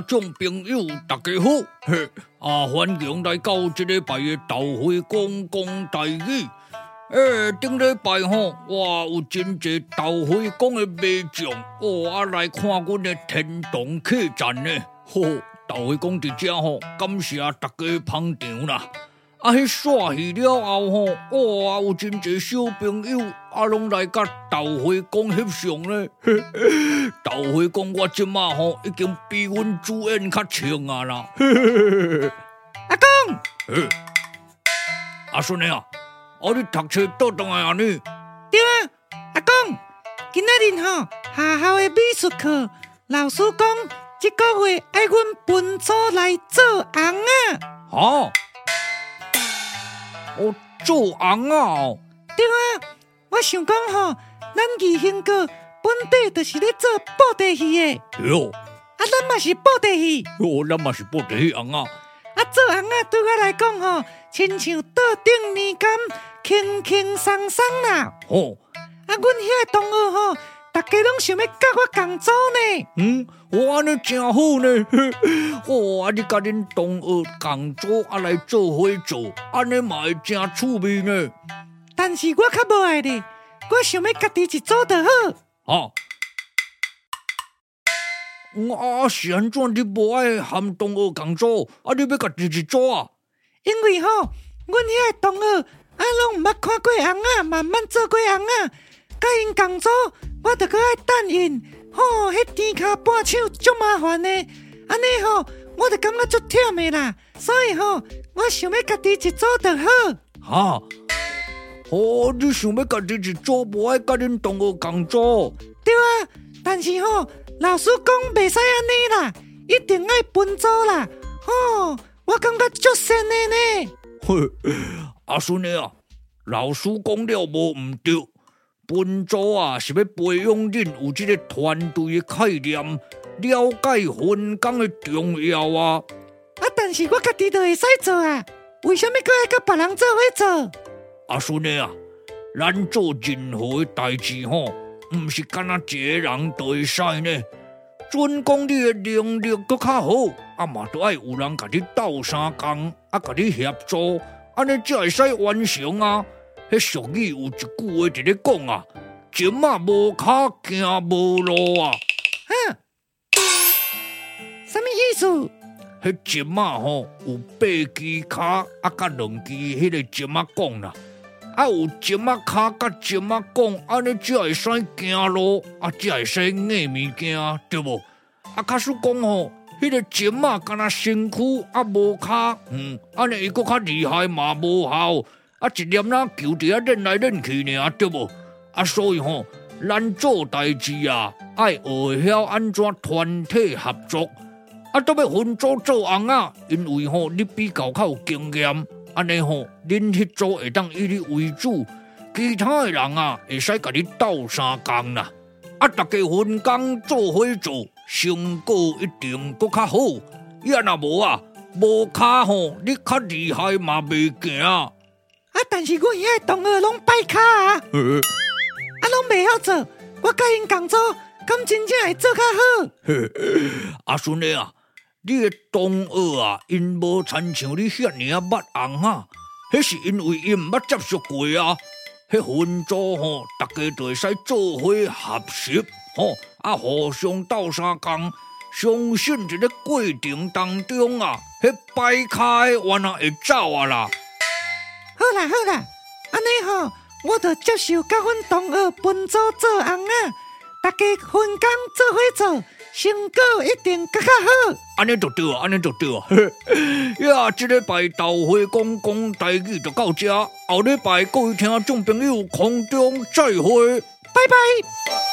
眾朋友，大家好！歡迎來到這禮拜的鬥會講台語。頂禮拜我有真濟鬥會講的迷眾，來看阮的天堂客棧呢。鬥會講佇遮感謝大家捧場啦。迄煞戲了後有真濟小朋友攏來甲鬥會講翕相呢。鬥會講我即馬已經比阮主演較清啊啦。 阿公， 阿孫啊，你讀冊倒轉來啊你？ 對啊，阿公，今仔日學校的美術課，老師講這個月愛阮分組來做紅啊。 做紅啊！ 對啊，我想講咱義興國本地就是咧做布袋戲的。 喲， 咱嘛是布袋戲。 咱嘛是布袋戲紅啊。 做紅啊，對我來講親像倒頂年柑，輕輕鬆鬆啦。阮遐個同學大家攏想要甲我共組呢。 安尼真好呢。你甲恁同學共組來做伙做，安尼嘛會真趣味呢。 但是我較無愛咧，我想要家己一組就好。 是安怎你無愛和同學共組，你要家己一組啊？ 因為阮遐個同學攏毋捌看過紅啊，慢慢做過紅啊，甲因共組，我著閣愛等因。迄甜卡半手足麻煩呢，安尼我著感覺足忝的啦，所以我想要家己一組就好。 你想要家己一組，無愛甲恁同學共組？ 對啊，但是老師講袂使安尼啦，一定愛分組啦。我感覺足神的呢。 阿孫啊，老師講了無毋對。分組是要培養恁有這個團隊的概念，了解分工的重要啊。 但是我家己就會使做啊，為什麼還要甲別人做伙做？ 阿孫啊，咱做任何的代志毋是干那一個人就會使呢。準講你的能力閣較好，嘛都愛有人甲你鬥相共，甲你協助，安尼才會使完成啊。迄俗語有一句話佇咧講啊，前馬無腳行無路啊。 什麼意思？ 迄前馬有8支腳，甲2支迄個前馬講啦，有前馬腳甲前馬講，安尼才會使行路，才會使硬物件，對無？假使講迄個前馬敢若身軀無腳，安尼伊閣較厲害嘛無效。一念啦，球佇遐練來練去爾，對無？所以咱做代志愛學曉安怎團體合作，都要分組做紅啊。因為你比較有經驗，安尼恁迄組會當以你為主，其他的人會使甲你鬥相共啦。大家分工做伙做，成果一定閣較好。若無腳你較厲害嘛袂行。 但是阮遐同學攏歹腳攏袂曉做，我甲因共組，敢真正會做較好。 阿孫啊，你的同學因無親像你遐爾捌紅啊，迄是因為因毋捌接觸過啊。迄分組大家就會使做伙合習，互相鬥相共，相信一個過程當中迄歹腳的原來會走啦。 好啦，安尼我就接受甲阮同學分組做紅啊，大家分工做伙做，成果一定更較好。 安尼就對啊。這禮拜鬥會講台語就到這，後禮拜各位聽眾朋友空中再會， 拜拜。